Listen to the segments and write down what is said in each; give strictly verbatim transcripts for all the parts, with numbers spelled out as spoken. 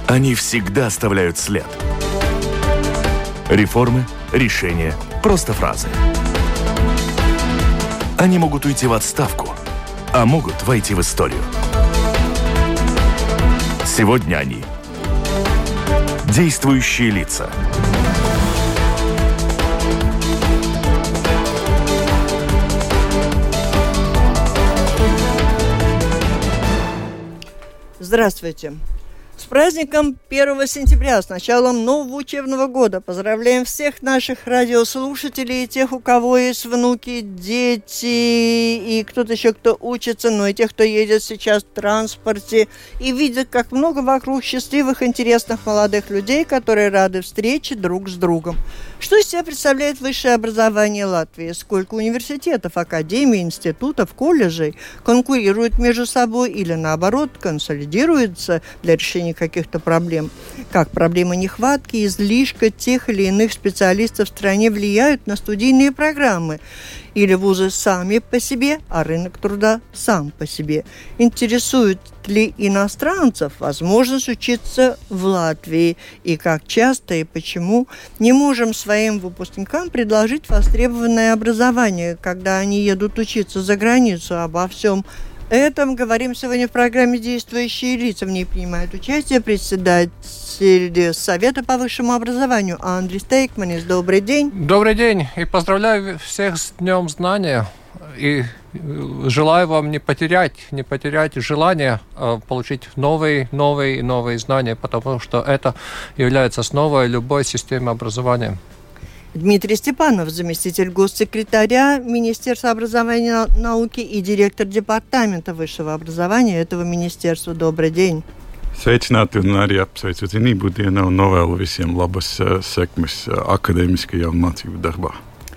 Они всегда оставляют след. Реформы, решения, просто фразы. Они могут уйти в отставку, а могут войти в историю. Сегодня они – действующие лица. Здравствуйте! С праздником первого сентября, с началом нового учебного года. Поздравляем всех наших радиослушателей, тех, у кого есть внуки, дети и кто-то еще, кто учится, но и тех, кто едет сейчас в транспорте и видит, как много вокруг счастливых, интересных молодых людей, которые рады встрече друг с другом. Что из себя представляет высшее образование Латвии? Сколько университетов, академий, институтов, колледжей конкурируют между собой или, наоборот, консолидируются для решения каких-то проблем? Как проблемы нехватки, излишка тех или иных специалистов в стране влияют на студийные программы? Или вузы сами по себе, а рынок труда сам по себе? Интересует ли иностранцев возможность учиться в Латвии? И как часто и почему не можем своим выпускникам предложить востребованное образование, когда они едут учиться за границу? Обо всем этом говорим сегодня в программе «Действующие лица». В ней принимает участие председатель Совета по высшему образованию Андрис Тейкманис. Добрый день. Добрый день. И поздравляю всех с Днем Знания. И желаю вам не потерять, не потерять желание получить новые, новые, новые знания, потому что это является основой любой системы образования. Дмитрий Степанов, заместитель госсекретаря Министерства образования и науки и директор департамента высшего образования этого министерства. Добрый день. Sveicināti un arī apsveicu zinību dienā un novēlu visiem labas sekmes akadēmiskajā un mācību darbā.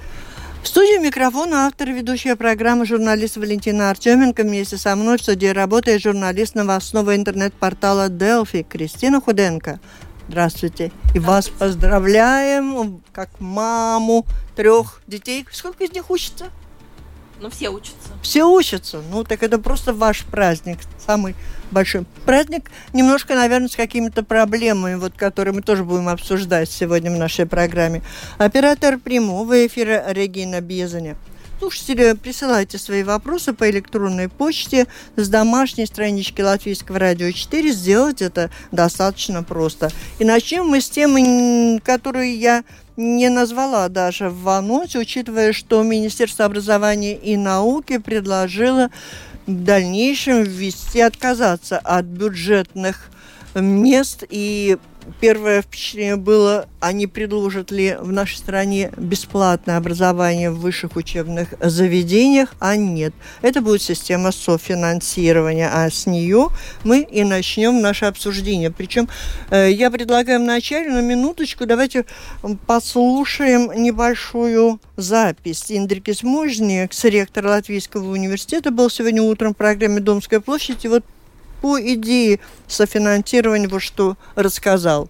В студии микрофона автор и ведущая программы журналист Валентина Артеменко. Вместе со мной в студии работает журналист новостного интернет-портала Delfi Кристина Худенко. Здравствуйте. И вас поздравляем, как маму трех детей. Сколько из них учатся? Ну, все учатся. Все учатся. Ну, так это просто ваш праздник. Самый большой праздник. Немножко, наверное, с какими-то проблемами, вот, которые мы тоже будем обсуждать сегодня в нашей программе. Оператор прямого эфира Регина Безаня. Слушатели, присылайте свои вопросы по электронной почте с домашней странички Латвийского радио четыре. Сделать это достаточно просто. И начнем мы с темы, которую я не назвала даже в анонсе, учитывая, что Министерство образования и науки предложило в дальнейшем ввести, отказаться от бюджетных мест. И первое впечатление было, они предложат ли в нашей стране бесплатное образование в высших учебных заведениях, а нет. Это будет система софинансирования, а с нее мы и начнем наше обсуждение. Причем э, я предлагаю вначале, на минуточку, давайте послушаем небольшую запись. Индрикис Можниекс, ректор Латвийского университета, был сегодня утром в программе «Домская площадь», и вот по идее софинансирования вот что рассказал.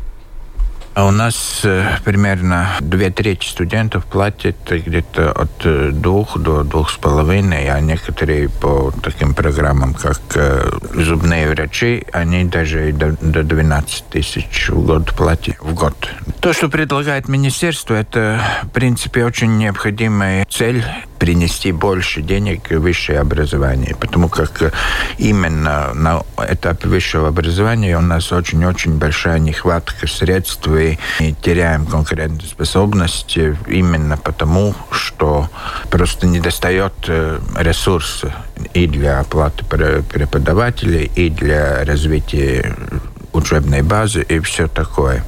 А у нас э, примерно две трети студентов платят где-то от двух до двух с половиной, а некоторые по таким программам, как э, зубные врачи, они даже до, до двенадцать тысяч в год платят в год. То, что предлагает министерство, это, в принципе, очень необходимая цель принести больше денег в высшее образование, потому как именно на этапе высшего образования у нас очень-очень большая нехватка средств, и теряем конкурентоспособность именно потому, что просто недостает ресурсов и для оплаты преподавателей, и для развития учебной базы и все такое.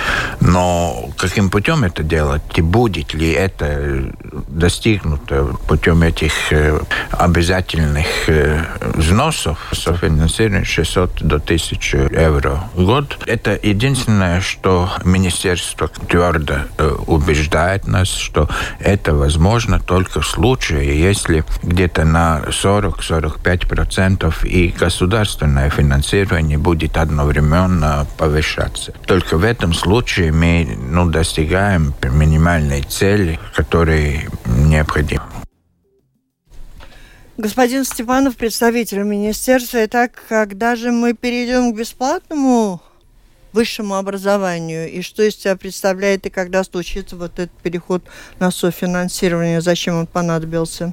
Но каким путем это делать, и будет ли это достигнуто путем этих обязательных взносов, софинансирования шестьсот до тысячи евро в год, это единственное, что министерство твердо убеждает нас, что это возможно только в случае, если где-то на сорок-сорок пять процентов и государственное финансирование будет одновременно повышаться. Только в этом случае мы ну, достигаем минимальной цели, которая необходима. Господин Степанов, представитель министерства. Итак, когда же мы перейдем к бесплатному высшему образованию, и что из себя представляет, и когда случится вот этот переход на софинансирование, зачем он понадобился?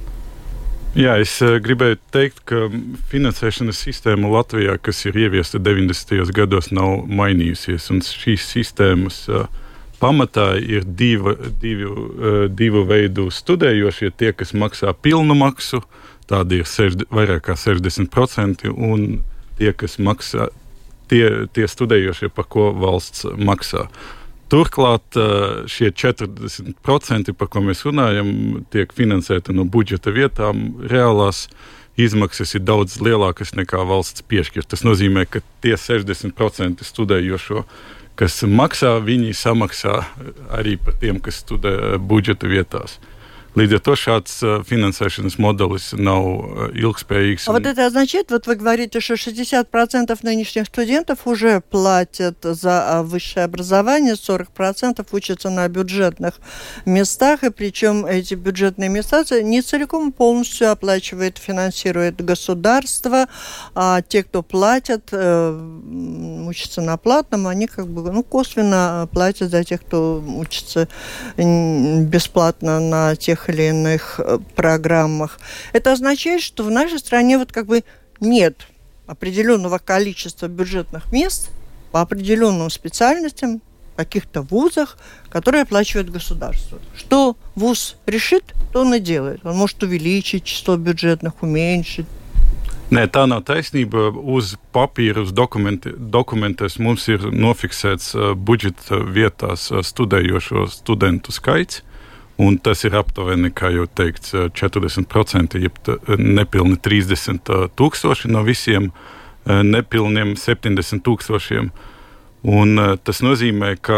Jā, es uh, gribēju teikt, ka finansēšanas sistēma Latvijā, kas ir ieviesta deviņdesmitajos gados, nav mainījusies. Un šīs sistēmas uh, pamatā ir diva, divu, uh, divu veidu studējošie, tie, kas maksā pilnu maksu, tādi ir sešd, vairāk kā sešdesmit procenti, un tie, kas maksā, tie, tie studējošie, par ko valsts maksā. Turklāt šie četrdesmit procenti, par ko mēs runājam, tiek finansēti no budžeta vietām. Reālās izmaksas ir daudz lielākas nekā valsts piešķir. Tas nozīmē, ka tie sešdesmit procenti studējošo, kas maksā, viņi samaksā arī par tiem, kas studē budžeta vietās. Līdz ar to šāds финансēšanas modelis nav ilgspējīgs. А вот это означает, вот вы говорите, что шестьдесят процентов нынешних студентов уже платят за высшее образование, сорок процентов учатся на бюджетных местах, и причем эти бюджетные места не целиком полностью оплачивает, финансирует государство, а те, кто платят, учатся на платном, они как бы ну, косвенно платят за тех, кто учится бесплатно на тех или иных программах. Это означает, что в нашей стране вот как бы нет определенного количества бюджетных мест по определенным специальностям в каких-то вузах, которые оплачивает государство. Что вуз решит, то он и делает. Он может увеличить число бюджетных, уменьшить. Nē, tā nav taisnība. Uz papīra, uz dokumenti, dokumentos mums ir nofiksēts uh, budžeta vietās uh, studējošo studentu skaits. Un tas ir aptuveni, kā jau teikts, četrdesmit procenti, jeb nepilni trīsdesmit tūkstoši no visiem nepilniem septiņdesmit tūkstošiem. Un tas nozīmē, ka,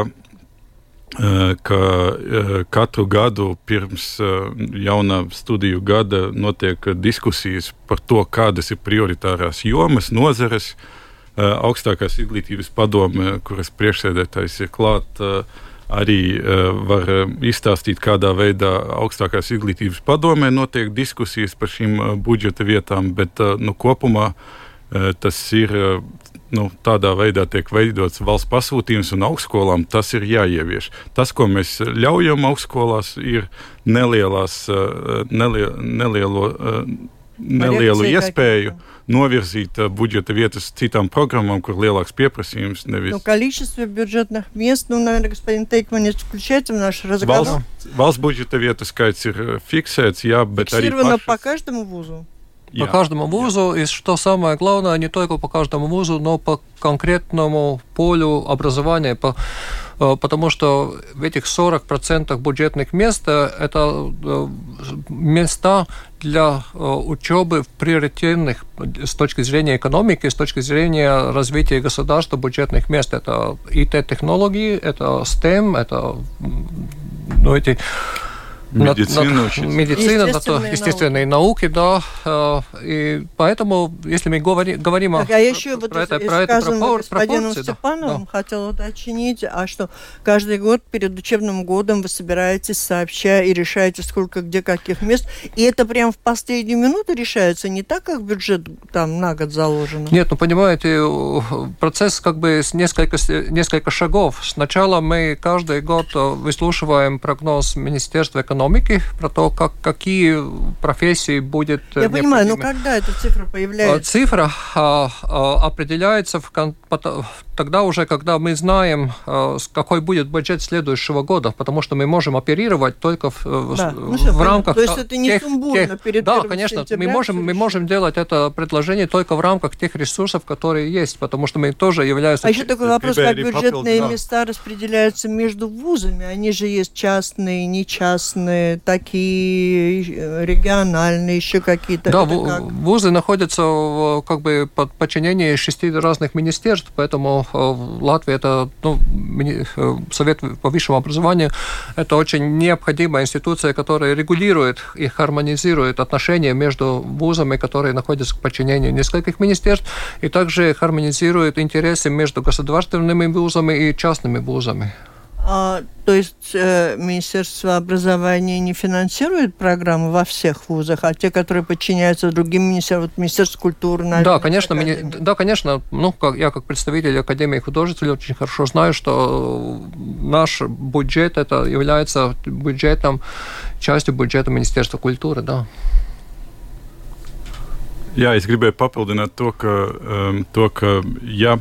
ka katru gadu pirms jaunā studiju gada notiek diskusijas par to, kādas ir prioritārās jomas, nozares. Augstākās izglītības padome, kuras priekšsēdētājs ir klāt, arī uh, var uh, izstāstīt, kādā veidā augstākās izglītības padomē notiek diskusijas par šīm uh, budžeta vietām, bet uh, nu, kopumā uh, tas ir uh, nu, tādā veidā tiek veidots valsts pasūtījums, un augstskolām tas ir jāievieš. Tas, ko mēs ļaujam augstskolās, ir nelielās, uh, nelie, nelielo, uh, nelielu iespēju novirzīt budžeta vietas citām программам, kur lielāks pieprasījums nevis. Ну, количество бюджетных мест, ну, наверное, господин Тейкманец включается в наш разговор. Valsts, valsts budžeta vietu skaits ir fiksēts, jā, bet arī Фиксировано pašas... по каждому вузу? По каждому вузу, и что самое главное, не только по каждому вузу, но по конкретному полю образования, по, потому что в этих сорок процентов бюджетных мест это места для учебы в приоритетных с точки зрения экономики, с точки зрения развития государства бюджетных мест. Это и тэ-технологии, это STEM, это ну, эти... Медицина, над, над, медицина, естественные, естественные науки, науки да. И поэтому, если мы говори, говорим так, о, а про, еще вот про, из, это, про это пропор, господином Степановым да. хотела уточнить, а что каждый год перед учебным годом вы собираетесь сообща и решаете, сколько где каких мест, и это прям в последнюю минуту решается, не так, как бюджет там на год заложено? Нет, ну понимаете, процесс как бы с несколько, несколько шагов. Сначала мы каждый год выслушиваем прогноз Министерства экономики про то, как, какие профессии будет Я необходимы. Понимаю, но когда эта цифра появляется? Цифра а, а, определяется в, тогда уже, когда мы знаем, а, какой будет бюджет следующего года, потому что мы можем оперировать только в, да. в, в рамках... То есть это не тех, сумбурно тех, перед Да, конечно, мы можем, мы можем делать это предложение только в рамках тех ресурсов, которые есть, потому что мы тоже являемся... А еще такой вопрос, как бюджетные места распределяются между вузами, они же есть частные, нечастные, такие региональные, еще какие-то. Да, как? вузы находятся в, как бы под подчинением шести разных министерств, поэтому в Латвии это ну, Совет по высшему образованию это очень необходимая институция, которая регулирует и хармонизирует отношения между вузами, которые находятся в подчинении нескольких министерств, и также хармонизирует интересы между государственными вузами и частными вузами. А, то есть э, Министерство образования не финансирует программы во всех вузах, а те, которые подчиняются другим министерствам, вот Министерство культуры, наверное, да, конечно, мини... да, конечно. Ну, как, я как представитель Академии художеств очень хорошо знаю, что наш бюджет это является бюджетом, частью бюджета Министерства культуры, да. Jā, es gribēju papildināt to, ka, um, to, ka ja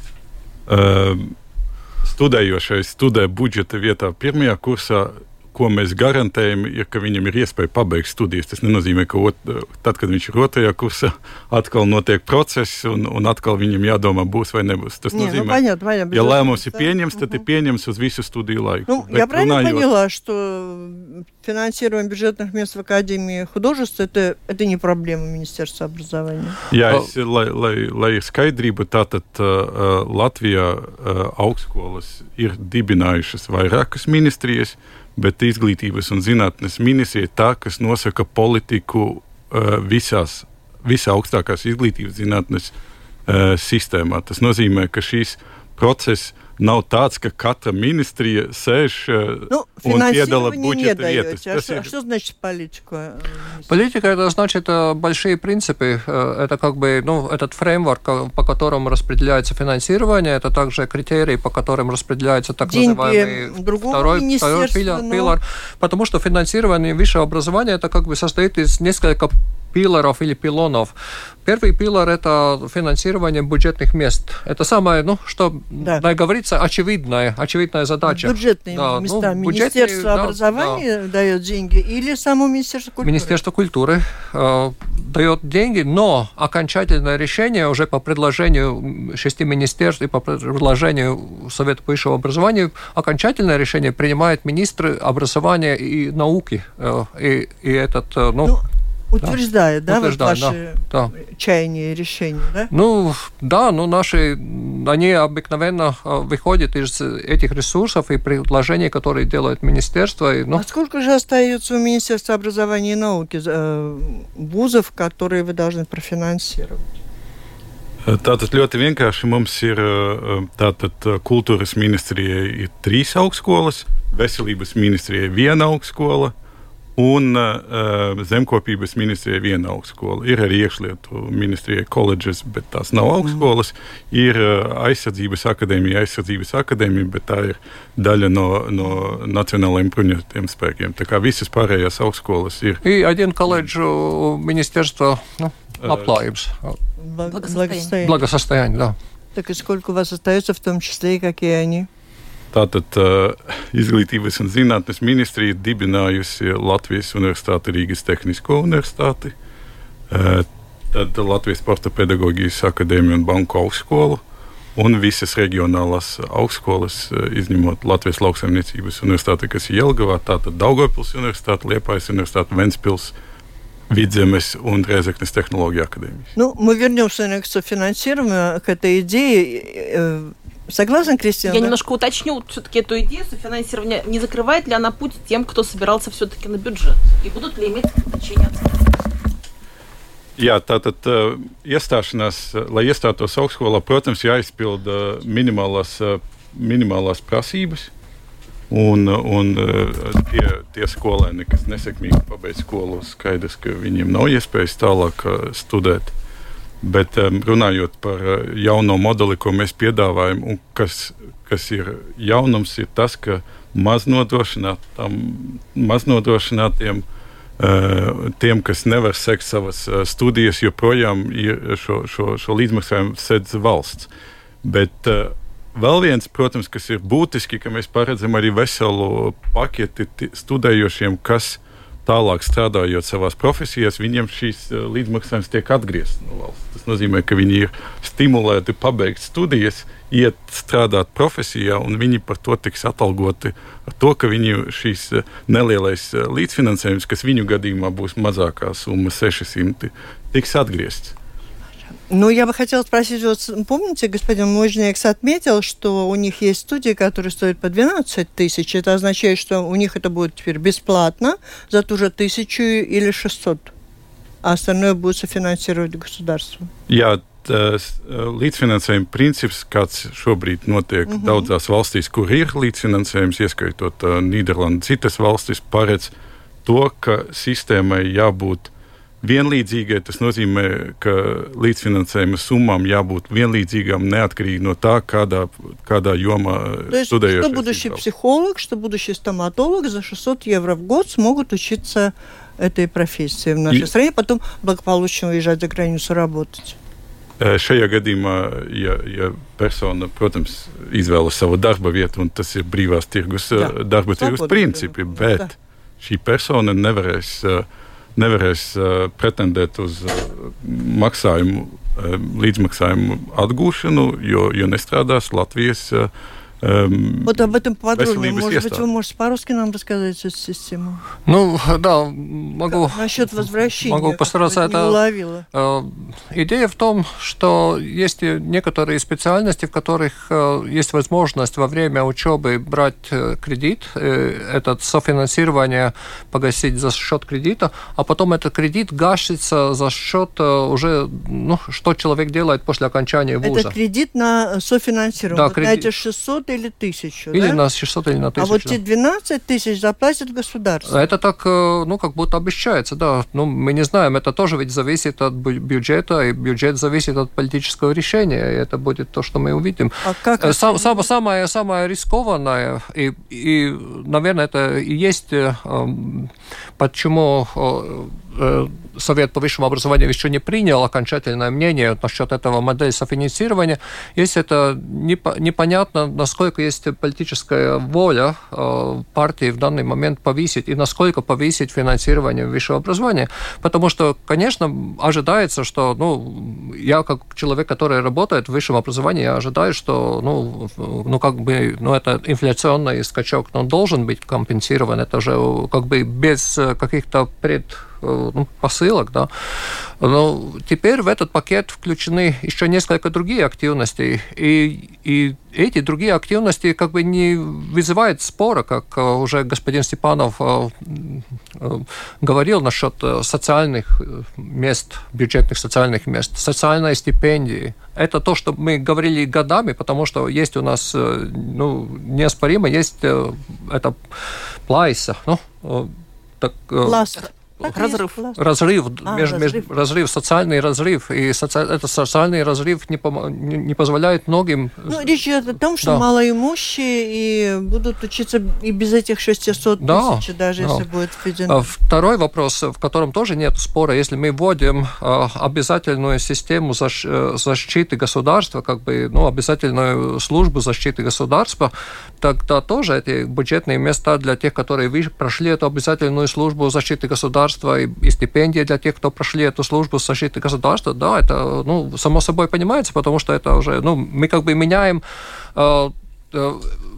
um, studējošais studē budžeta vietā pirmajā kursā, ko mēs garantējam, ir, ka viņam ir iespēja pabeigt studijas. Tas nenozīmē, ka ot, tad, kad viņš ir otrajā kursā, atkal notiek process un, un atkal viņam jādomā, būs vai nebūs. Tas Не, nozīmē, ну, понятно, понятно, ja lēmums ir да. pieņems, tad угу. ir pieņems uz visu studiju laiku. Ну, Bet я правильно runājot, поняла, что финансирование бюджетных мест в Академии художеств это, это не проблема Министерства образования? Jā, es, lai, lai, lai ir skaidrība, tātad uh, Latvijā uh, augstskolas ir dibinājušas vairākas ministrijas, bet izglītības un zinātnes ministrija ir tā, kas nosaka politiku uh, visās, visā augstākās izglītības zinātnes uh, sistēmā. Tas nozīmē, ka šīs process nav tāds, ka katra ministrija sēž uh, ну, un piedala budžeta даете. vietas. А, Tas что, ir... а что значит политика? Политика это значит большие принципы, это как бы ну, этот фреймворк, по которому распределяется финансирование, это также критерии, по которым распределяется так Деньги называемый второй, второй пилар, но... пилар, потому что финансирование высшего образования это как бы состоит из нескольких пилоров или пилонов. Первый пилор – это финансирование бюджетных мест. Это самое, ну, что, да. да, говорится, очевидная, очевидная задача. Бюджетные да, места. Ну, Министерство да, образования да. дает деньги или само Министерство культуры? Министерство культуры э, дает деньги, но окончательное решение уже по предложению шести министерств и по предложению Совета высшего образования, окончательное решение принимает министр образования и науки. Э, и, и этот, э, ну, ну... Утверждает, да, да Утверждает, вот ваши да, чаяния и решения, да? Ну, да, ну, наши, они обыкновенно выходят из этих ресурсов и предложений, которые делает министерство. И, ну... А сколько же остается у Министерства образования и науки э, вузов, которые вы должны профинансировать? Tātad ļoti vienkārši mums ir tātad kultūras ministrijai ir trīs augstskolas, veselības ministrijai viena augstskola, un uh, zemkopības ministrijai viena augstskola. Ir arī iekšlietu ministrijai koledžas, bet tās nav augstskolas. Ir uh, aizsardzības akadēmija, aizsardzības akadēmija, bet tā ir daļa no, no nacionālajiem bruņotajiem spēkiem. Tā kā visas pārējās augstskolas ir. И один колледж министерства ну, labklājības. Благосостояние. Благосостояние, да. Так и сколько у вас остается, в том числе и какие они? Tātad uh, Izglītības un zinātnes ministrija ir dibinājusi Latvijas Universitāti, Rīgas Tehnisko universitāti, uh, tad Latvijas Sporta pedagoģijas akadēmiju un banku augstskolu un visas reģionālās augstskolas, uh, izņemot Latvijas lauksaimniecības universitāti, kas ir Jelgavā, tātad Daugavpils universitāte, Liepājas universitāte, Ventspils, Vidzemes un Rēzeknes технологии академии. Ну, мы вернемся к софинансированию, к этой идее. Согласен, Кристина? Я да? немножко уточню все-таки эту идею софинансирования. Не закрывает ли она путь тем, кто собирался все-таки на бюджет? И будут ли иметь значение? Jā, tātad uh, iestāšanās, lai iestātos augstskolā, protams, jāizpilda minimālās, uh, minimālās prasības. Un, un tie, tie skolēni, kas nesekmīgi pabeidz skolu, skaidrs, ka viņiem nav iespējas tālāk uh, studēt. Bet um, runājot par uh, jauno modeli, ko mēs piedāvājam, un kas, kas ir jaunums, ir tas, ka maznodrošinātām, maznodrošinātiem, uh, tiem, kas nevar sekt savas uh, studijas, joprojām ir šo, šo, šo līdzmaksājumu sedz valsts. Bet uh, vēl viens, protams, kas ir būtiski, ka mēs paredzam arī veselu paketi studējošiem, kas tālāk strādājot savās profesijās, viņiem šīs līdzmaksājums tiek atgriezts no valsts. Tas nozīmē, ka viņi ir stimulēti pabeigt studijas, iet strādāt profesijā, un viņi par to tiks atalgoti ar to, ka viņi šīs nelielais līdzfinansējums, kas viņu gadījumā būs mazākā summa seši simti, tiks atgriezts. Ну, я бы хотела спросить, вот помните, господин Мужнекс отметил, что у них есть студии, которые стоят по двенадцать тысяч. Это означает, что у них это будет теперь бесплатно за ту же тысячу или шестьсот, а остальное будет софинансировать государство. Jā, tas līdzfinansējuma princips, kāds šobrīd notiek mm-hmm. daudzās valstīs, kur ir līdzfinansējums, ieskaitot uh, Nīderlandi, citas valstis, paredz to, ka sistēmai jābūt vienlīdzīgai. Tas nozīmē, ka līdzfinansējuma summām jābūt vienlīdzīgām, неотkarīgi no tā, kādā, kādā jomā студējošais. Что будущий психолог, что будущий стоматолог за шестьсот евро в год смогут учиться этой профессии в нашей и... стране, потом благополучно уезжать за границу работать. Šajā gadījumā, ja, ja persona, protams, izvēlas savu darba vietu, un tas ir brīvās tirgus, Jā. darba tirgus principi, bet Jā. šī persona nevarēs, nevarēs pretendēt uz maksājumu, līdzmaksājumu atgūšanu, jo, jo nestrādās Latvijas Um, вот об этом подробнее. Может быть, вы можете по-русски нам рассказать эту систему? Ну, да, могу... Насчет возвращения. Могу постараться это... Э, идея в том, что есть некоторые специальности, в которых э, есть возможность во время учебы брать э, кредит, э, это софинансирование погасить за счет кредита, а потом этот кредит гасится за счет э, уже, ну, что человек делает после окончания вуза. Это кредит на софинансирование. Да, вот кредит... на эти шестьсот или тысячу, или да? на шестьсот, или на тысячу. А вот те двенадцать тысяч заплатит государство. Это так, ну, как будто обещается, да. Ну, мы не знаем, это тоже ведь зависит от бюджета, и бюджет зависит от политического решения, и это будет то, что мы увидим. А как Сам, это... сам, самое, самое рискованное, и, и, наверное, это и есть, почему Совет по высшему образованию еще не принял окончательное мнение насчет этого модели софинансирования. Если это непонятно, насколько есть политическая воля партии в данный момент повысить и насколько повысить финансирование высшего образования. Потому что, конечно, ожидается, что, ну, я как человек, который работает в высшем образовании, я ожидаю, что, ну, ну как бы, ну, это инфляционный скачок, но он должен быть компенсирован. Это же как бы без каких-то пред ну, посылок, да. Но теперь в этот пакет включены еще несколько другие активности, и, и эти другие активности как бы не вызывают спора, как уже господин Степанов говорил насчет социальных мест, бюджетных социальных мест, социальные стипендии. Это то, что мы говорили годами, потому что есть у нас, ну, неоспоримо, есть это плайса, ну, так... Пласт. Разрыв. Разрыв, а, между, разрыв. Между, разрыв, социальный разрыв. И соци... этот социальный разрыв не, пом... не, не позволяет многим... Ну, речь идет о том, что да. малоимущие и будут учиться и без этих шестисот да, тысяч, даже да. если будет введено. Второй вопрос, в котором тоже нет спора. Если мы вводим э, обязательную систему защ... защиты государства, как бы, ну, обязательную службу защиты государства, тогда тоже эти бюджетные места для тех, которые прошли эту обязательную службу защиты государства, И, и стипендии для тех, кто прошли эту службу защиты государства, да, это, ну, само собой понимается, потому что это уже, ну, мы как бы меняем э, э,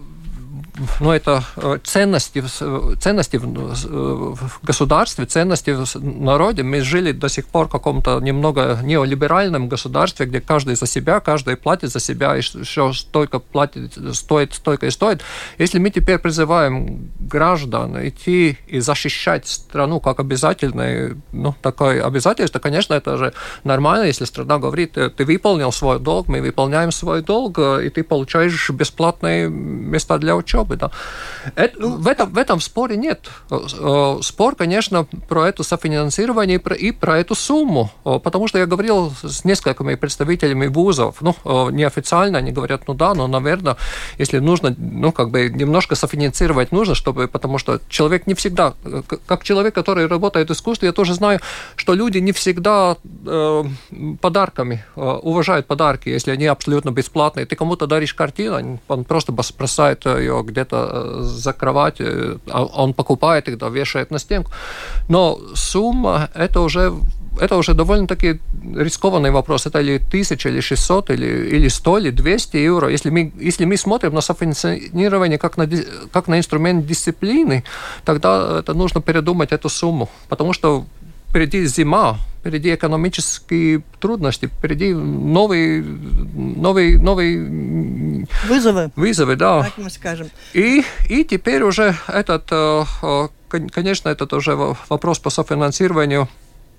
ну, это ценности, ценности в государстве, ценности в народе. Мы жили до сих пор в каком-то немного неолиберальном государстве, где каждый за себя, каждый платит за себя, и все столько платит, стоит, столько и стоит. Если мы теперь призываем граждан идти и защищать страну как обязательное, ну, такое обязательство, конечно, это же нормально, если страна говорит, ты выполнил свой долг, мы выполняем свой долг, и ты получаешь бесплатные места для учебы. Да. Это, ну, в, этом, в этом споре нет. Спор, конечно, про это софинансирование и про, и про эту сумму. Потому что я говорил с несколькими представителями вузов. Ну, неофициально они говорят, ну да, но, наверное, если нужно, ну, как бы немножко софинансировать нужно, чтобы, потому что человек не всегда, как человек, который работает в искусстве, я тоже знаю, что люди не всегда э, подарками э, уважают подарки, если они абсолютно бесплатные. Ты кому-то даришь картину, он просто бросает ее где-то за кровать, он покупает их, да, вешает на стенку. Но сумма, это уже, это уже довольно-таки рискованный вопрос. Это ли тысяча, или шестьсот, или, или сто, или двести евро. Если мы, если мы смотрим на софинансирование как на, как на инструмент дисциплины, тогда это нужно передумать эту сумму. Потому что впереди зима, впереди экономические трудности, впереди новые, новые, новые вызовы. Вызовы, да. Так мы скажем. И, и теперь уже этот, конечно, этот уже вопрос по софинансированию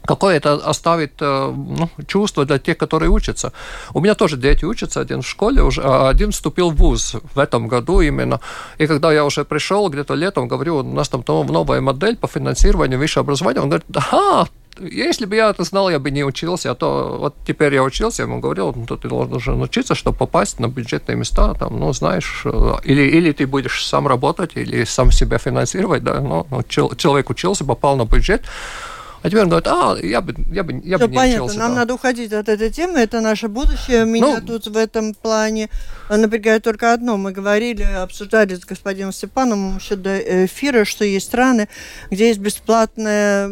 какое это оставит ну, чувство для тех, которые учатся. У меня тоже дети учатся, один в школе, уже, а один вступил в вуз в этом году именно. И когда я уже пришел где-то летом, говорю, у нас там новая модель по финансированию высшего образования, он говорит, ага, если бы я это знал, я бы не учился, а то вот теперь я учился, я ему говорил, ну, ты должен учиться, чтобы попасть на бюджетные места, там, ну, знаешь, или, или ты будешь сам работать, или сам себя финансировать, да, ну, человек учился, попал на бюджет, а теперь он говорит, а, я бы, я бы, я бы не понятно. учился. Нам да. надо уходить от этой темы, это наше будущее. Меня ну, тут в этом плане напрягает только одно. Мы говорили, обсуждали с господином Степановым еще до эфира, что есть страны, где есть бесплатное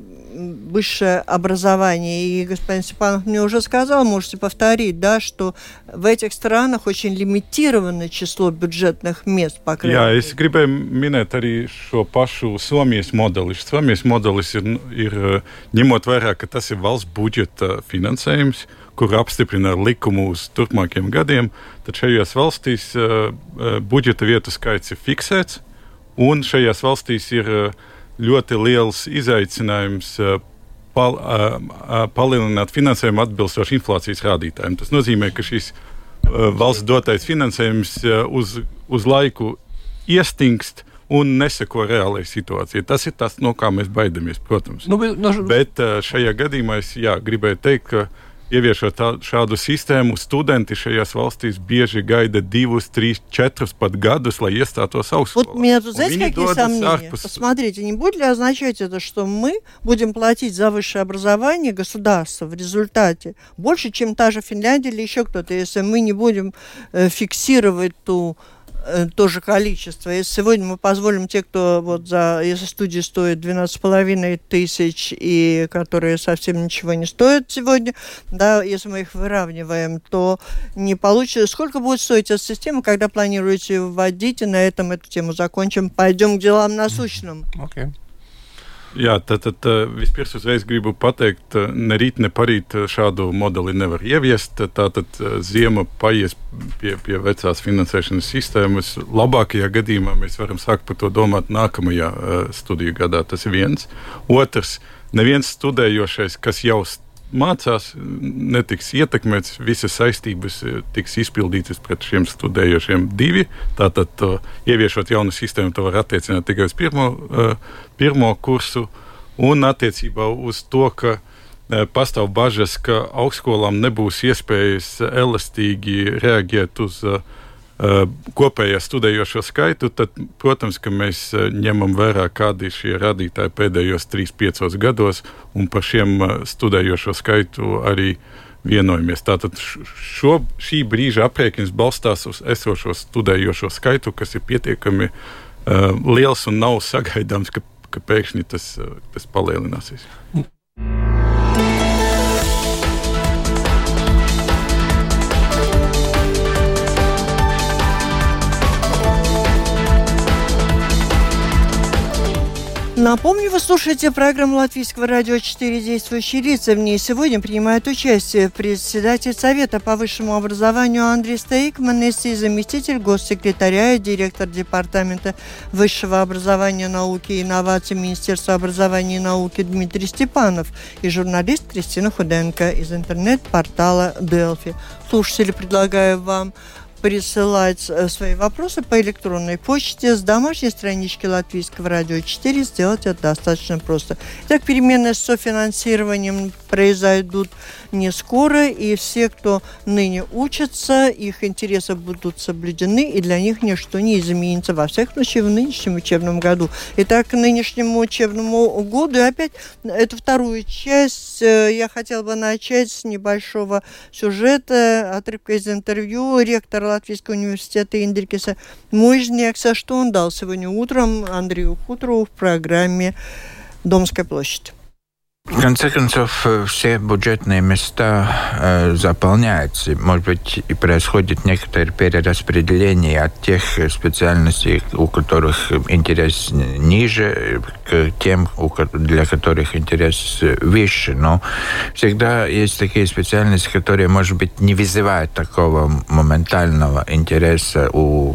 высшее образование. И господин Степанов мне уже сказал, можете повторить, да, что в этих странах очень лимитированное число бюджетных мест, по крайней мере. Jā, es gribēju minēt arī šo pašu Somijas modeli. Somijas modelis ir, ir ņemot vērā, ka tas ir valsts budžeta finansējums, kur apstiprina ar likumu uz turpmākiem gadiem, tad šajās valstīs uh, budžeta vietu skaits ir fiksēts, un šajās valstīs ir uh, ļoti liels izaicinājums uh, pal, uh, uh, palielināt finansējumu atbilstoši inflācijas rādītājiem. Tas nozīmē, ka šis uh, valsts dotais finansējums uh, uz, uz laiku iestingst un neseko reālajai situācijai. Tas ir tas, no kā mēs baidamies, protams. Nu, bet, no... bet šajā gadījumā es jā, gribēju teikt, ka ieviešot tā, šādu систему, studenti šajās valstīs bieži gaida divus, trīs, četrus pat gadus, lai iestātos augstskolā. Вот у меня тут, знаете, какие сомнения? Арпус... Посмотрите, не будет ли означать это, что мы будем платить за высшее образование государства в результате больше, чем та же Финляндия или еще кто-то, если мы не будем э, фиксировать ту то же количество. Если сегодня мы позволим те, кто вот за, если студии стоят двенадцать с половиной тысяч и которые совсем ничего не стоят сегодня, да, если мы их выравниваем, то не получится. Сколько будет стоить эта система, когда планируете вводить, и на этом эту тему закончим. Пойдем к делам насущным. Okay. Jā, tad, tad vispirms uzreiz gribu pateikt, ne rīt, ne parīt šādu modeli nevar ieviest. Tātad ziema paies pie, pie vecās finansēšanas sistēmas. Labākajā gadījumā mēs varam sākt par to domāt nākamajā studiju gadā. Tas ir viens. Otrs, neviens studējošais, kas jau mācās, netiks ietekmēts, visas saistības tiks izpildītas pret šiem studējošiem divi. Tātad, to, ieviešot jaunu sistēmu, to var attiecināt tikai uz pirmo, pirmo kursu. Un attiecībā uz to, ka pastāv bažas, ka augstskolām nebūs iespējas elastīgi reaģēt uz kopējā studējošo skaitu, tad, protams, ka mēs ņemam vērā, kādi ir šie rādītāji pēdējos trīs piecos gados, un par šiem studējošo skaitu arī vienojamies. Tātad šo, šī brīža aprēķins balstās uz esošo studējošo skaitu, kas ir pietiekami uh, liels un nav sagaidāms, ka, ka pēkšņi tas, tas palielināsies. Напомню, вы слушаете программу Латвийского радио четыре «Действующие лица». В ней сегодня принимает участие председатель Совета по высшему образованию Андрей Стейкманес и заместитель госсекретаря и директор Департамента высшего образования, науки и инноваций Министерства образования и науки Дмитрий Степанов и журналист Кристина Худенко из интернет-портала Delfi. Слушатели, предлагаю вам присылать свои вопросы по электронной почте с домашней странички Латвийского радио четыре. Сделать это достаточно просто. Так, перемены с софинансированием произойдут не скоро, и все, кто ныне учатся, их интересы будут соблюдены, и для них ничто не изменится, во всяком случае, в нынешнем учебном году. Итак, к нынешнему учебному году, и опять эту вторую часть я хотела бы начать с небольшого сюжета, отрывка из интервью ректора Латвийского университета Индрикиса Мужнякса, что он дал сегодня утром Андрею Хуторову в программе «Домская площадь». В конце концов, все бюджетные места э, заполняются. Может быть, и происходит некоторое перераспределение от тех специальностей, у которых интерес ниже, к тем, для которых интерес выше. Но всегда есть такие специальности, которые, может быть, не вызывают такого моментального интереса у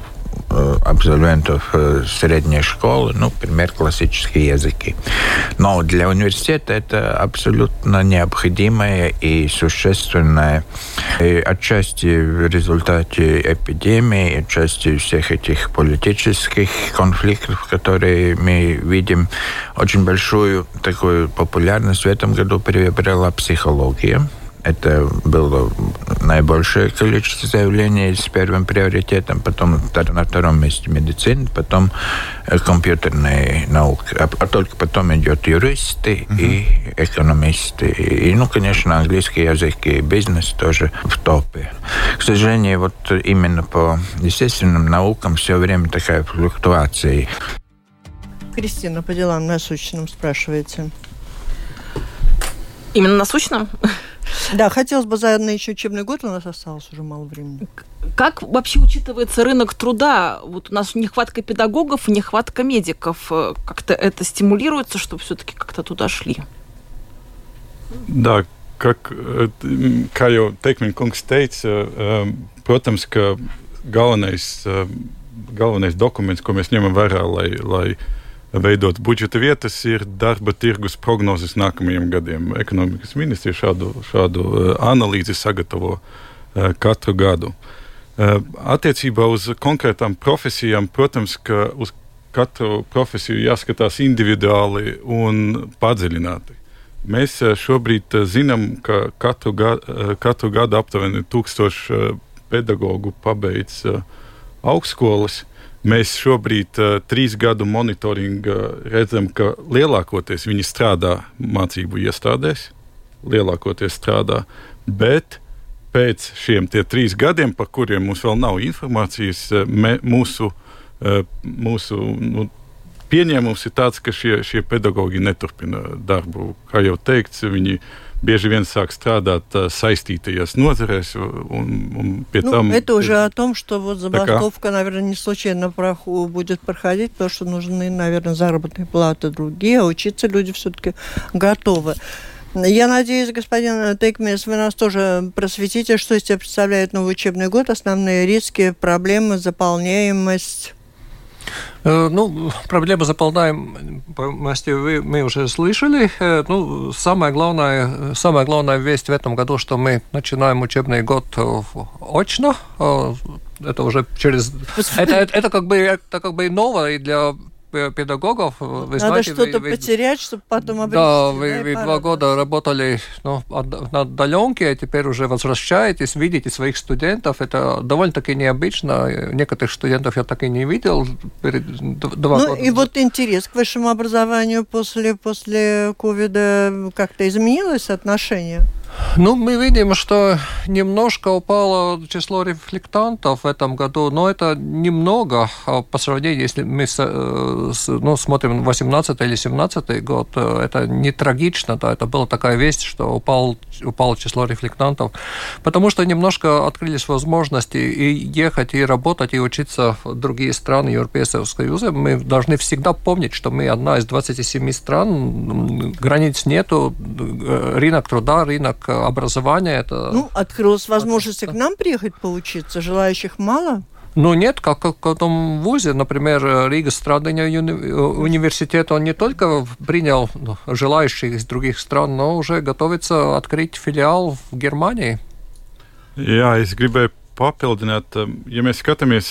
абсолвентов средней школы, ну, например, классические языки. Но для университета это абсолютно необходимое и существенное. И отчасти в результате эпидемии, отчасти всех этих политических конфликтов, которые мы видим, очень большую такую популярность в этом году приобрела психология. Это было наибольшее количество заявлений с первым приоритетом, потом на втором месте медицина, потом компьютерные науки, а, а только потом идет юристы uh-huh. и экономисты. И, ну, конечно, английский язык и бизнес тоже в топе. К сожалению, вот именно по естественным наукам все время такая флуктуация. Кристина, по делам насущным спрашиваете. Именно насущным? Да, хотелось бы заодно еще учебный год, у нас осталось уже мало времени. Как вообще учитывается рынок труда? Вот у нас нехватка педагогов, нехватка медиков. Как-то это стимулируется, чтобы все-таки как-то туда шли? Да, как, kā jau Teikmeņa kungs teica, protams, ka galvenais, galvenais dokuments, ko mēs ņemam vērā, lai, lai veidot budžeta vietas, ir darba tirgus prognozes nākamajiem gadiem. Ekonomikas ministrija šādu, šādu analīzi sagatavo katru gadu. Attiecībā uz konkrētām profesijām, protams, ka uz katru profesiju jāskatās individuāli un padziļināti. Mēs šobrīd zinām, ka katru gadu, katru gadu aptuveni tūkstoši pedagogu pabeidz augstskolas. Mēs šobrīd uh, trīs gadu monitoringa redzam, ka lielākoties viņi strādā mācību iestādēs, lielākoties strādā, bet pēc šiem tie trīs gadiem, par kuriem mums vēl nav informācijas, mē, mūsu, uh, mūsu nu, pieņēmums ir tāds, ka šie, šie pedagogi neturpina darbu. Kā jau teikts, viņi бежи вен сāk strādāt saistītajās nozarēs un, un pie ну, там... Это уже о том, что вот забастовка, так, наверное, не случайно проху будет проходить, потому что нужны, наверное, заработные платы другие, а учиться люди все-таки готовы. Я надеюсь, господин Тейкмес, вы нас тоже просветите, что из себя представляет новый учебный год, основные риски, проблемы, заполняемость... Ну, проблема заполняемости мы уже слышали. Ну, самая главная, самая главная весть в этом году, что мы начинаем учебный год очно. Это уже через... Это, это, это, как бы, это как бы ново и для педагогов. Вы Надо знаете, что-то вы, потерять, чтобы потом обрести. Да, вы, вы два года работали ну, на удаленке, а теперь уже возвращаетесь, видите своих студентов. Это довольно-таки необычно. Некоторых студентов я так и не видел перед два ну, года. И вот интерес к высшему образованию после, после ковида как-то изменилось отношение? Ну, мы видим, что немножко упало число рефлектантов в этом году, но это немного по сравнению, если мы ну, смотрим восемнадцатый или семнадцатый год, это не трагично, да, это была такая весть, что упал, упало число рефлектантов, потому что немножко открылись возможности и ехать, и работать, и учиться в другие страны Европейского Союза. Мы должны всегда помнить, что мы одна из двадцати семи стран, границ нету, рынок труда, рынок образования. Это... Ну, открылась возможность к нам приехать поучиться, желающих мало? Ну, нет, как, как в том вузе, например, Рига Страдания университет, он не только принял желающих из других стран, но уже готовится открыть филиал в Германии. Jā, es gribēju papildināt, ja mēs skatāmies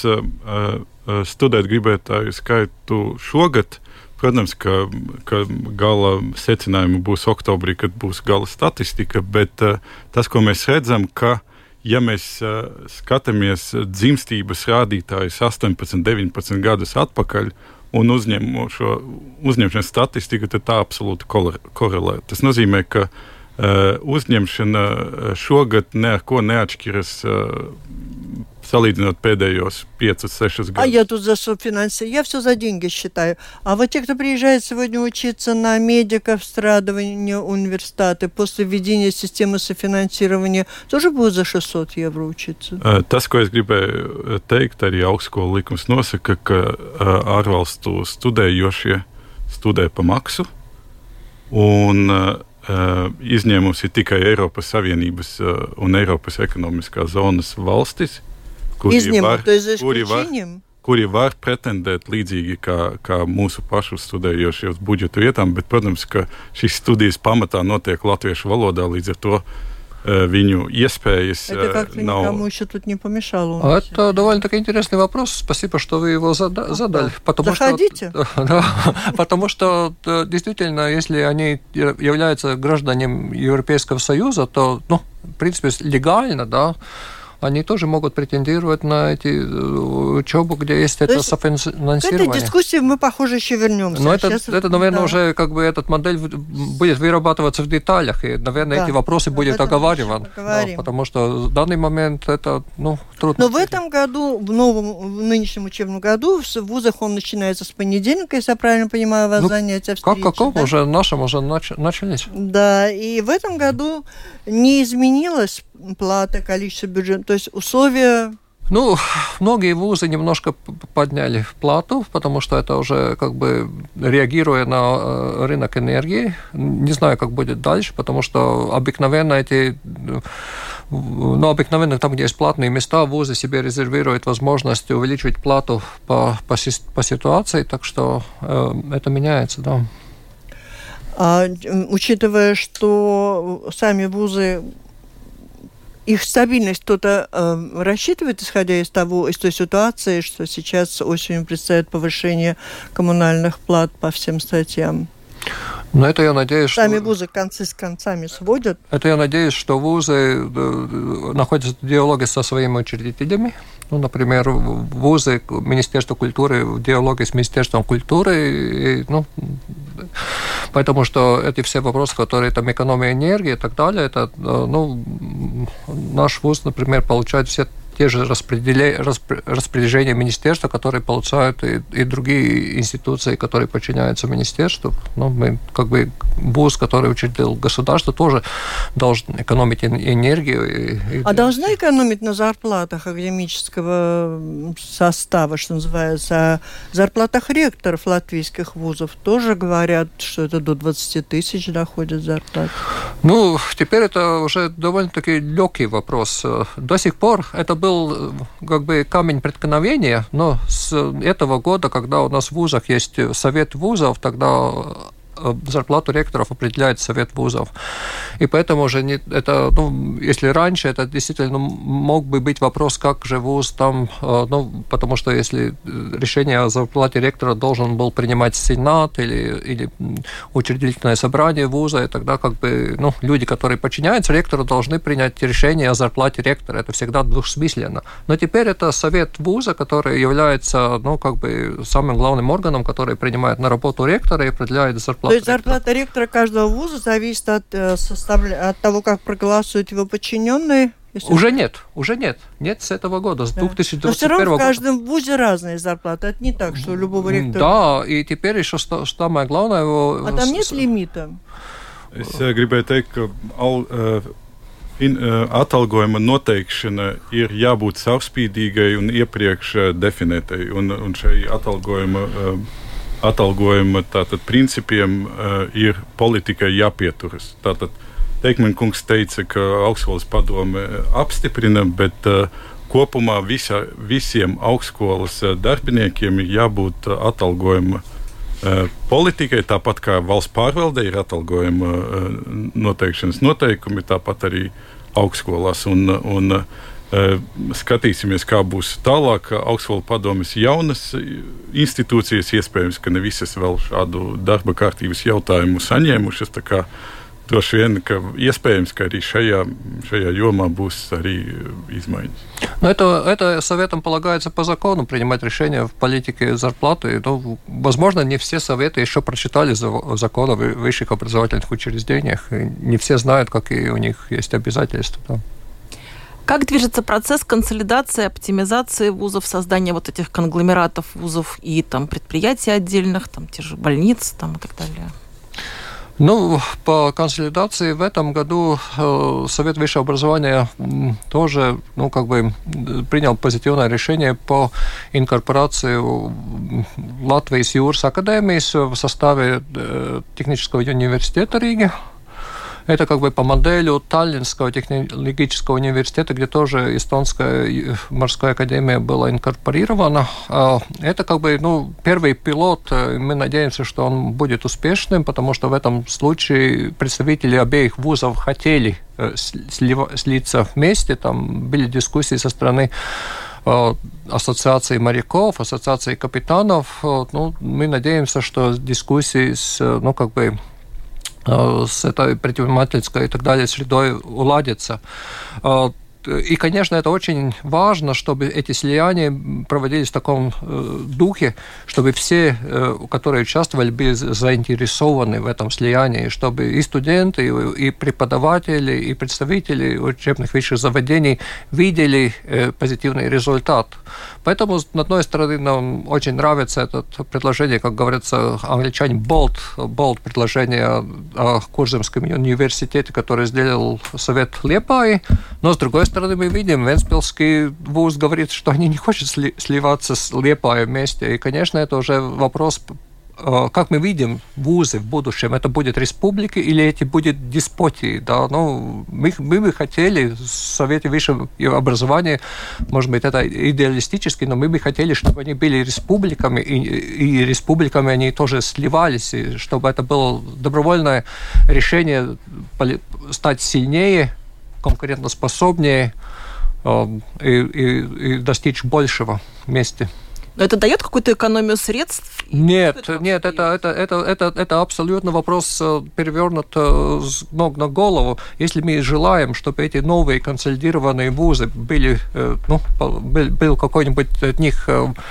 studēt gribētāju skaitu šogad, protams, ka, ka gala secinājumi būs oktobrī, kad būs gala statistika, bet tas, ko mēs redzam, ka ja mēs uh, skatāmies dzimstības rādītājus astoņpadsmit, deviņpadsmit gadus atpakaļ un uzņem šo uzņemšanas statistiku, tad tā absolūti korelē. Tas nozīmē, ka uh, uzņemšana šogad neko neatšķiras uh, салидно от педējos пять-шесть годов. А я тут за софинансирование. Я все за деньги считаю. А вот те, кто приезжает сегодня учиться на медиков, страдывания университеты, после введения системы софинансирования, тоже будут за šeststo евро учиться? Tas, ko es gribēju teikt, arī augstskolu likums nosaka, ka ārvalstu studējošie studē pa maksu, un izņēmums ir tikai Eiropas Savienības un Eiropas ekonomiskās zonas valstis, Изнимут, то есть за исключением? kuri var pretendēt līdzīgi kā, kā mūsu pašu studējošie uz budžeta vietām, bet, protams, ka šīs studijas pamatā notiek latviešu valodā, līdz ar to viņu иespējas Это как-то nav... никому еще тут не помешало. Это довольно-таки интересный вопрос. Спасибо, что вы его зада- задали. Потому Заходите. Что, да, потому что действительно, если они являются гражданами Европейского Союза, то, ну, в принципе, легально, да, они тоже могут претендировать на эти учебу, где есть то это софинансирование. К этой дискуссии мы, похоже, еще вернемся. Но это, это, наверное, да. уже как бы эта модель будет вырабатываться в деталях, и, наверное, да. эти вопросы будут оговариваны. Да, потому что в данный момент это, ну, трудно. Но в этом году, в новом, в нынешнем учебном году, в вузах он начинается с понедельника, если я правильно понимаю, вас ну, занятия встречи. Как каком? Да? Уже нашим уже нач- начались. Да, и в этом году не изменилась плата, количество бюджета, то есть условия... Ну, многие вузы немножко подняли плату, потому что это уже как бы реагируя на рынок энергии. Не знаю, как будет дальше, потому что обыкновенно эти... Ну, обыкновенно там, где есть платные места, вузы себе резервируют возможность увеличивать плату по, по, по ситуации, так что э, это меняется, да. А, учитывая, что сами вузы... Их стабильность кто-то э, рассчитывает, исходя из того, из той ситуации, что сейчас осенью предстоит повышение коммунальных плат по всем статьям? Но это я надеюсь, Сами что... вузы концы с концами сводят. Это я надеюсь, что вузы находятся в диалоге со своими учредителями. Ну, например, вузы, Министерство культуры в диалоге с Министерством культуры. И, ну, потому что эти все вопросы, которые там экономия энергии и так далее, это, ну, наш вуз, например, получает все те же распределения, распоряжения министерства, которые получают и, и другие институции, которые подчиняются министерству. Ну, мы, как бы, вуз, который учредил государство, тоже должен экономить энергию. И, и... А должны экономить на зарплатах академического состава, что называется, а зарплатах ректоров латвийских вузов тоже говорят, что это до двадцати тысяч доходит зарплата. Ну, теперь это уже довольно-таки легкий вопрос. До сих пор это был как бы камень преткновения, но с этого года, когда у нас в вузах есть совет вузов, тогда зарплату ректоров определяет совет вузов. И поэтому уже не, это, ну, если раньше это действительно мог бы быть вопрос, как же вуз там, ну, потому что если решение о зарплате ректора должен был принимать сенат или, или учредительное собрание вуза, и тогда как бы, ну, люди, которые подчиняются ректору, должны принять решение о зарплате ректора. Это всегда двусмысленно. Но теперь это совет вуза, который является, ну, как бы самым главным органом, который принимает на работу ректора и определяет зарплату. То есть зарплата ректора каждого вуза зависит от, э, составля... от того, как проголосуют его подчиненные? Если... Уже нет, уже нет. Нет с этого года, с да. две тысячи двадцать первого года. Но все равно в каждом вузе разные зарплаты. Это не так, что у любого ректора... Да, и теперь еще самое главное... Его... А там нет лимита? Es gribēju teikt, ka al, in, atalgojuma noteikšana ir jābūt savspīdīgai un iepriekš definētai. Un, un šai atalgojuma... atalgojuma tātad, principiem uh, ir politikai jāpieturas. Tātad Teikman kungs teica, ka augstskolas padome apstiprina, bet uh, kopumā visa, visiem augstskolas darbiniekiem ir jābūt uh, atalgojuma uh, politikai, tāpat kā valsts pārvaldē ir atalgojuma uh, noteikšanas noteikumi, tāpat arī augstskolās. Un, un, Skatīsimies, kā būs tālāk. Augstskolas padomes jaunas institūcijas, iespējams, ka ne visas vēl šādu darba kārtības jautājumu saņēmušas. Tā kā droši vien, ka iespējams, ka arī šajā, šajā jomā būs arī изменения. Но это, это советам полагается по закону принимать решения в политике зарплаты. Ну, возможно, не все советы еще прочитали закон о высших образовательных учреждениях. И не все знают, какие у них есть обязательства. Да. Как движется процесс консолидации, оптимизации вузов, создания вот этих конгломератов вузов и там, предприятий отдельных, там, те же больницы там, и так далее? Ну, по консолидации в этом году э, Совет высшего образования э, тоже, ну, как бы принял позитивное решение по инкорпорации Латвijas Jūras академijas в составе э, технического университета Риги. Это как бы по модели Таллинского технологического университета, где тоже эстонская морская академия была инкорпорирована. Это как бы ну, первый пилот. Мы надеемся, что он будет успешным, потому что в этом случае представители обеих вузов хотели слиться вместе. Там были дискуссии со стороны ассоциации моряков, ассоциации капитанов. Ну, мы надеемся, что дискуссии с, ну, как бы, с этой предпринимательской и так далее средой уладятся. И, конечно, это очень важно, чтобы эти слияния проводились в таком духе, чтобы все, которые участвовали, были заинтересованы в этом слиянии, чтобы и студенты, и преподаватели, и представители учебных высших заведений видели позитивный результат. Поэтому, с одной стороны, нам очень нравится это предложение, как говорится, англичане, bold, bold предложение о Курземском университете, который сделал Совет Лиепаи, но, с другой стороны, мы видим, Вентспилский вуз говорит, что они не хотят сли- сливаться с Лиепаей вместе. И, конечно, это уже вопрос, как мы видим вузы в будущем. Это будет республики или эти будут деспотии. Да? Ну, мы, мы бы хотели в Совете высшего образования, может быть, это идеалистически, но мы бы хотели, чтобы они были республиками, и, и республиками они тоже сливались, и чтобы это было добровольное решение стать сильнее, конкурентоспособнее э, и, и, и достичь большего вместе. Но это дает какую-то экономию средств? Нет, нет, это, это, это, это, это абсолютно вопрос перевернут с ног на голову. Если мы желаем, чтобы эти новые консолидированные вузы были, ну, был, был какой-нибудь от них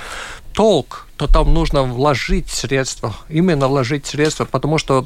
толк, то там нужно вложить средства, именно вложить средства, потому что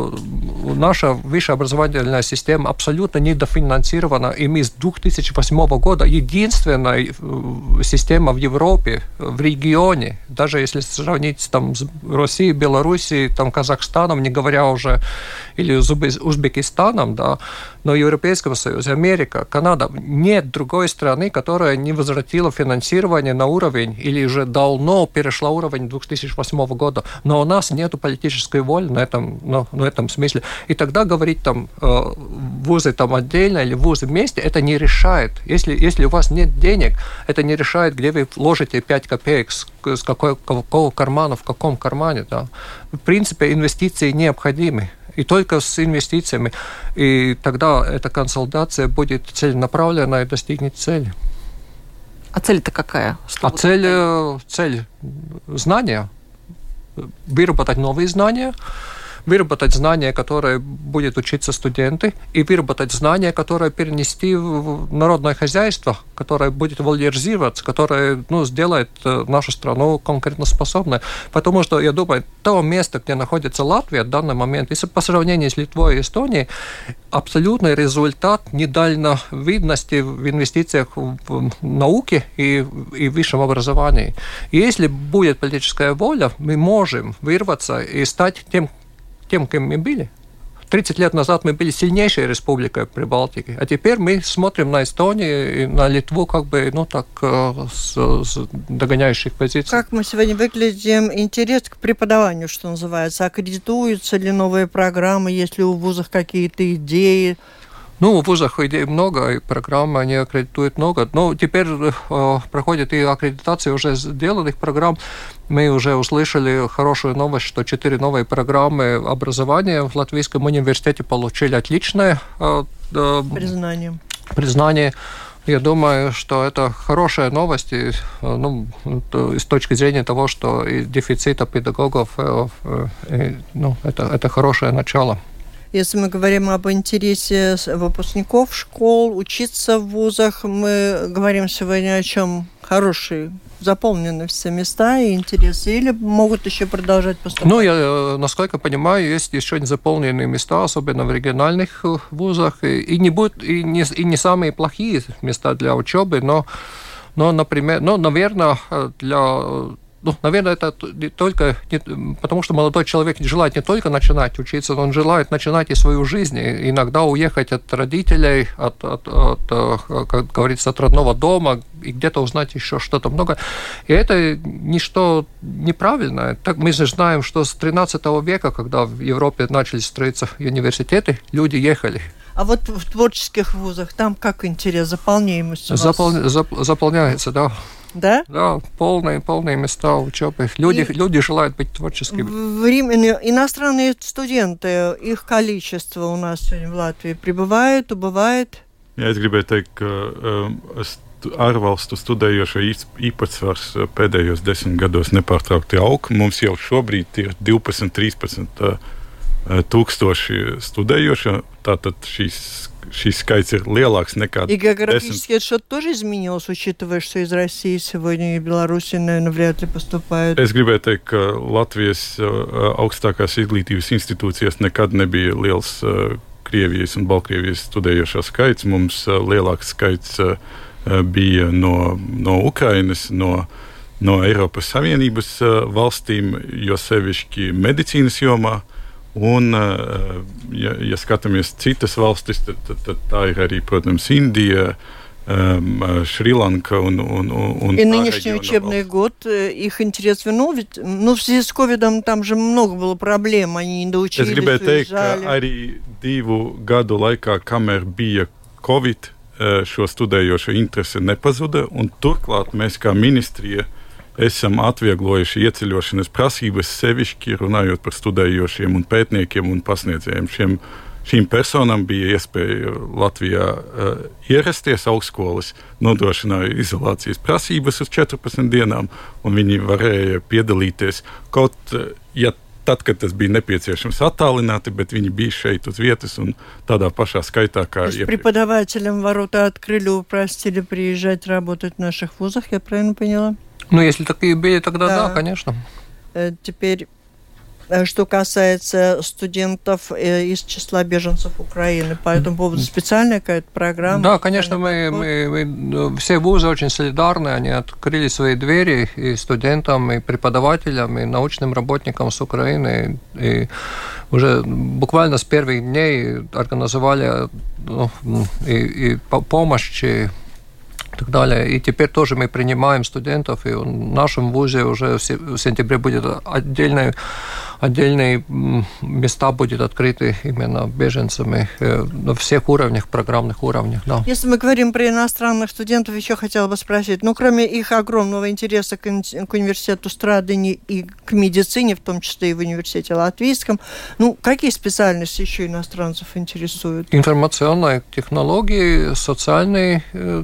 наша высшая образовательная система абсолютно недофинансирована, и мы с две тысячи восьмого года единственная система в Европе, в регионе, даже если сравнить там, с Россией, Белоруссией, там, Казахстаном, не говоря уже, или Узбекистаном, да, но Европейского Союза, Америка, Канада, нет другой страны, которая не возвратила финансирование на уровень или уже давно перешла уровень две тысячи восьмого года, но у нас нет политической воли на этом, ну, на этом смысле. И тогда говорить там вузы там отдельно или вузы вместе, это не решает. Если, если у вас нет денег, это не решает, где вы вложите пять копеек, с, с какой, какого кармана, в каком кармане. Да. В принципе, инвестиции необходимы. И только с инвестициями. И тогда эта консолидация будет целенаправленная и достигнет цели. А цель-то какая? Что а цель, цель знания. Выработать новые знания, выработать знания, которые будут учиться студенты, и выработать знания, которые перенести в народное хозяйство, которое будет валоризироваться, которое ну, сделает нашу страну конкурентоспособной. Потому что, я думаю, то место, где находится Латвия в данный момент, если по сравнению с Литвой и Эстонией, абсолютный результат недальновидности в инвестициях в науке и, и в высшем образовании. И если будет политическая воля, мы можем вырваться и стать тем, тем, кем мы были. тридцать лет назад мы были сильнейшей республикой Прибалтики, а теперь мы смотрим на Эстонию и на Литву как бы, ну так, с, с догоняющих позиций. Как мы сегодня выглядим? Интерес к преподаванию, что называется. Аккредитуются ли новые программы, есть ли у вузов какие-то идеи? Ну, в вузах идей много, и программы они аккредитуют много. Но теперь э, проходит и аккредитация уже сделанных программ. Мы уже услышали хорошую новость, что четыре новые программы образования в Латвийском университете получили отличное э, э, признание. признание. Я думаю, что это хорошая новость и, ну, с точки зрения того, что и дефицита педагогов, и, ну, это, это хорошее начало. Если мы говорим об интересе выпускников школ, учиться в вузах, мы говорим сегодня о чем? Хорошие, заполнены все места и интересы, или могут еще продолжать поступать? Ну, я, насколько понимаю, есть еще не заполненные места, особенно в региональных вузах, и не, будут, и не, и не самые плохие места для учебы, но, но например, ну, наверное, для ну, наверное, это не только не, потому, что молодой человек желает не только начинать учиться, но он желает начинать и свою жизнь, и иногда уехать от родителей, от, от, от, как говорится, от родного дома, и где-то узнать еще что-то много. И это ничто неправильное. Так мы же знаем, что с тринадцатого века, когда в Европе начали строиться университеты, люди ехали. А вот в творческих вузах там как интерес, заполняемость у вас? Запол... Зап... Заполняется, да. Да? Да, полные, полные места учебы. Люди, и люди желают быть творческими. В Риме иностранные студенты, их количество у нас сегодня в Латвии прибывает, убывает? Jā, es gribēju teikt, ka uh, ārvalstu studējošo īpatsvars pēdējos desmit gados nepārtraukti aug. Mums jau šobrīd ir divpadsmit trīspadsmit uh, tūkstoši studējošo, tātad šīs Šis skaits ir lielāks nekā И географически это что-то тоже изменилось, учитывая, что из России сегодня и Беларуси, наверное, вряд ли поступают? Es gribēju teikt, ka Latvijas augstākās izglītības institūcijās nekad nebija liels Krievijas un Baltkrievijas studējošo skaits. Mums lielāks skaits bija no, no Ukrainas, no, no Eiropas Savienības valstīm, jo sevišķi medicīnas jomā. Un, ja, ja skatāmies citas valstis, tad, tad, tad tā ir arī, protams, Indija, um, Шри-Ланка un, un, un И нынешний учебный год, их интерес вернул, ведь, ну, в связи с ковидом там же много было проблем, они не доучились, уезжали. Es gribēju teikt, уезжали. ka arī divu gadu laikā, kamēr bija Covid, šo studējošo interese nepazuda, un turklāt mēs kā ministrija esam atvieglojuši ieceļošanas prasības, sevišķi runājot par studējošiem un pētniekiem un pasniedzējiem. Šiem, šīm personām bija iespēja Latvijā uh, ierasties, augstskolas nodrošināja izolācijas prasības uz četrpadsmit dienām, un viņi varēja piedalīties kaut, uh, ja tad, kad tas bija nepieciešams attālināti, bet viņi bija šeit uz vietas un tādā pašā skaitā, kā iepriekš. Преподавателям ворота открыли, упростили приезжать работать в наших вузах, я правильно поняла? Ну, если такие были, тогда да, да конечно. Теперь, что касается студентов из числа беженцев Украины, по этому поводу специальная какая-то программа? Да, конечно, мы, мы, мы, все вузы очень солидарны, они открыли свои двери и студентам, и преподавателям, и научным работникам с Украины, и уже буквально с первых дней организовали ну, и, и помощь, и так далее. И теперь тоже мы принимаем студентов, и в нашем вузе уже в сентябре будет отдельные, отдельные места будут открыты именно беженцами на всех уровнях, программных уровнях. Да. Если мы говорим про иностранных студентов, еще хотела бы спросить, ну, кроме их огромного интереса к, к университету Страдани и к медицине, в том числе и в университете Латвийском, ну, какие специальности еще иностранцев интересуют? Информационные технологии, социальные,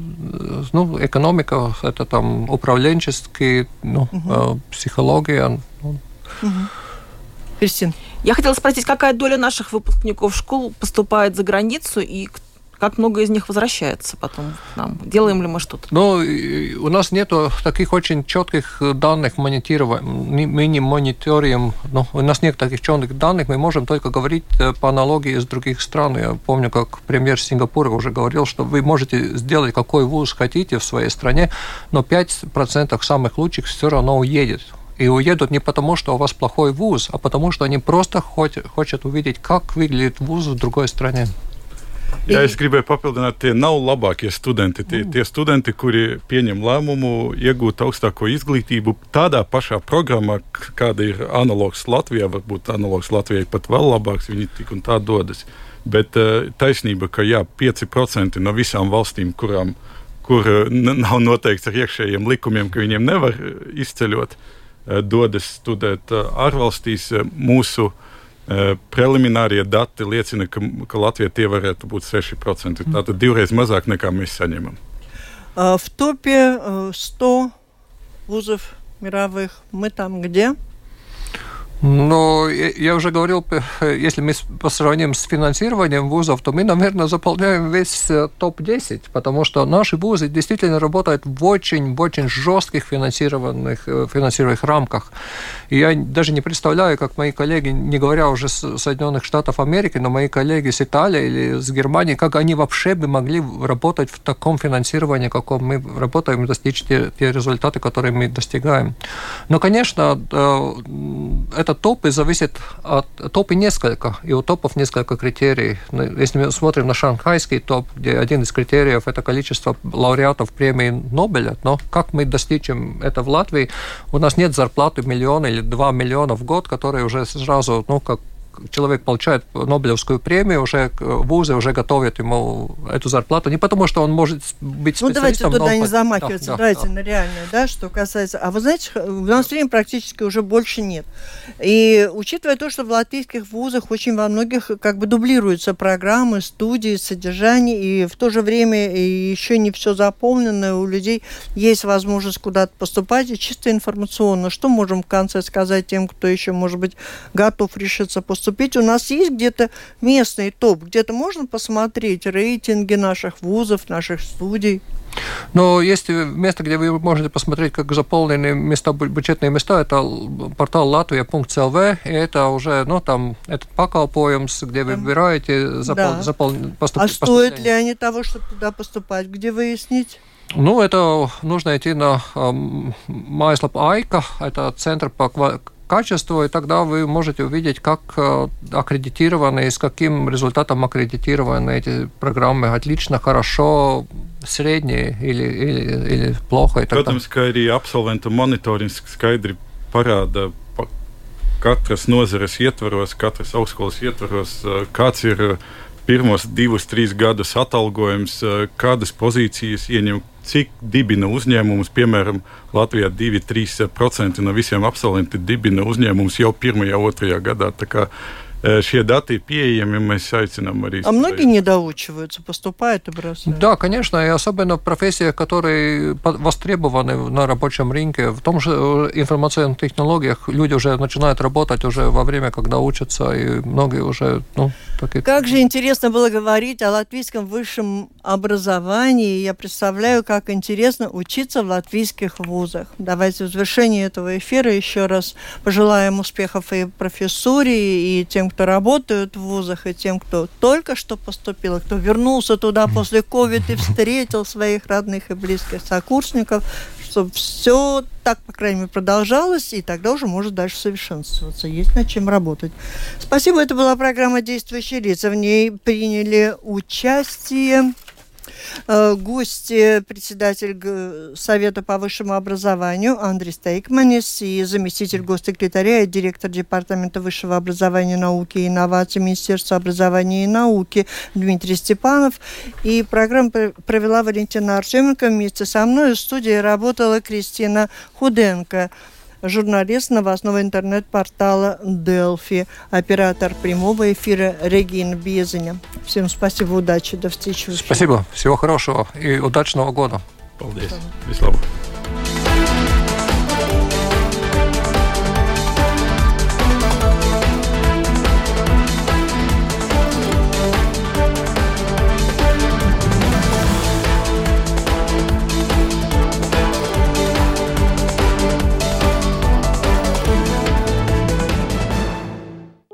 ну, экономика, это там управленческие, ну, угу. психология. Ну. Угу. Кристина. Я хотела спросить, какая доля наших выпускников школ поступает за границу и как много из них возвращается потом к нам? Делаем ли мы что-то? Ну, у нас нет таких очень четких данных монитирования. Мы не мониторим, ну, у нас нет таких четких данных, мы можем только говорить по аналогии с других стран. Я помню, как премьер Сингапура уже говорил, что вы можете сделать какой вуз хотите в своей стране, но пять процентов самых лучших все равно уедет. И уедут не потому, что у вас плохой вуз, а потому, что они просто хотят, хотят увидеть, как выглядит вуз в другой стране. Jā, es gribēju papildināt, tie nav labākie studenti. Tie, tie studenti, kuri pieņem lēmumu iegūt augstāko izglītību tādā pašā programmā, kāda ir analogs Latvijā, varbūt analogs Latvijai pat vēl labāks, viņi tik un tā dodas. Bet taisnība, ka jā, pieci procenti no visām valstīm, kurām, kur nav noteikts ar iekšējiem likumiem, ka viņiem nevar izceļot, dodas studēt ārvalstīs. Mūsu preliminārie dati liecina, ka, ka Latvijā tie varētu būt seši procenti. Tātad divreiz mazāk nekā mēs saņemam. В топе сто вузов мировых мы там где? Ну, я уже говорил, если мы сравним с финансированием вузов, то мы, наверное, заполняем весь топ десять, потому что наши вузы действительно работают в очень, в очень жестких финансированных, финансированных рамках. И я даже не представляю, как мои коллеги, не говоря уже с Соединенных Штатов Америки, но мои коллеги с Италии или с Германии, как они вообще бы могли работать в таком финансировании, каком мы работаем, и достичь те, те результаты, которые мы достигаем. Но, конечно, это топы зависят от... Топы несколько, и у топов несколько критерий. Если мы смотрим на шанхайский топ, где один из критериев – это количество лауреатов премии Нобеля, но как мы достичем это в Латвии? У нас нет зарплаты миллиона или два миллиона в год, которые уже сразу, ну, как человек получает Нобелевскую премию, уже вузы уже готовят ему эту зарплату. Не потому, что он может быть специалистом. Ну, давайте туда но... не замахиваться. Да, давайте да, на реальное, да, что касается... А вы знаете, у нас времени практически уже больше нет. И учитывая то, что в латвийских вузах очень во многих как бы дублируются программы, студии, содержание, и в то же время еще не все заполнено, у людей есть возможность куда-то поступать, и чисто информационно. Что можем в конце сказать тем, кто еще, может быть, готов решиться поступать? У нас есть где-то местный топ, где-то можно посмотреть рейтинги наших вузов, наших студий? Но есть место, где вы можете посмотреть, как заполнены места, бюджетные места. Это портал латвия точка эл ви, и это уже, ну, там, этот pakalpojums, где вы выбираете запол... да. запол... поступ... А стоит ли они того, чтобы туда поступать? Где выяснить? Ну, это нужно идти на mājaslapu Aika, это центр по качеству, и тогда вы можете увидеть, как аккредитированы и с каким результатом аккредитированы эти программы. Отлично, хорошо, средние или, или, или плохо. Protams, ka arī absolventu monitorings skaidri parāda katras nozares ietvaros, katras augstskolas ietvaros, kāds ir pirmos divus, trīs gadus atalgojums, kādas pozīcijas ieņem, cik dibina uzņēmumus, piemēram, Latvijā divi līdz trīs procenti no visiem absolventiem dibina uzņēmumus jau pirmajā, otrajā gadā. Tā kā šie даты пieejami, mēs aicinām arī... А многие не доучиваются, поступают и бросают? Да, конечно, и особенно в профессиях, которые востребованы на рабочем рынке. В том же информационных технологиях люди уже начинают работать уже во время, когда учатся, и многие уже... Ну, такие... Как же интересно было говорить о латвийском высшем образовании. Я представляю, как интересно учиться в латвийских вузах. Давайте в завершении этого эфира еще раз пожелаем успехов и профессуре, и тем, кто работают в вузах, и тем, кто только что поступил, кто вернулся туда после ковида и встретил своих родных и близких сокурсников, чтобы все так, по крайней мере, продолжалось, и тогда уже может дальше совершенствоваться. Есть над чем работать. Спасибо. Это была программа «Действующие лица». В ней приняли участие гости, председатель Совета по высшему образованию Андрей Стейкманис и заместитель госсекретаря и директор Департамента высшего образования, науки и инноваций Министерства образования и науки Дмитрий Степанов. И программу провела Валентина Артеменко. Вместе со мной в студии работала Кристина Худенко, журналист новостного интернет-портала Delfi, оператор прямого эфира Регина Безеня. Всем спасибо, удачи, до встречи. Спасибо, всего хорошего и удачного года. Paldies. Vislabāk.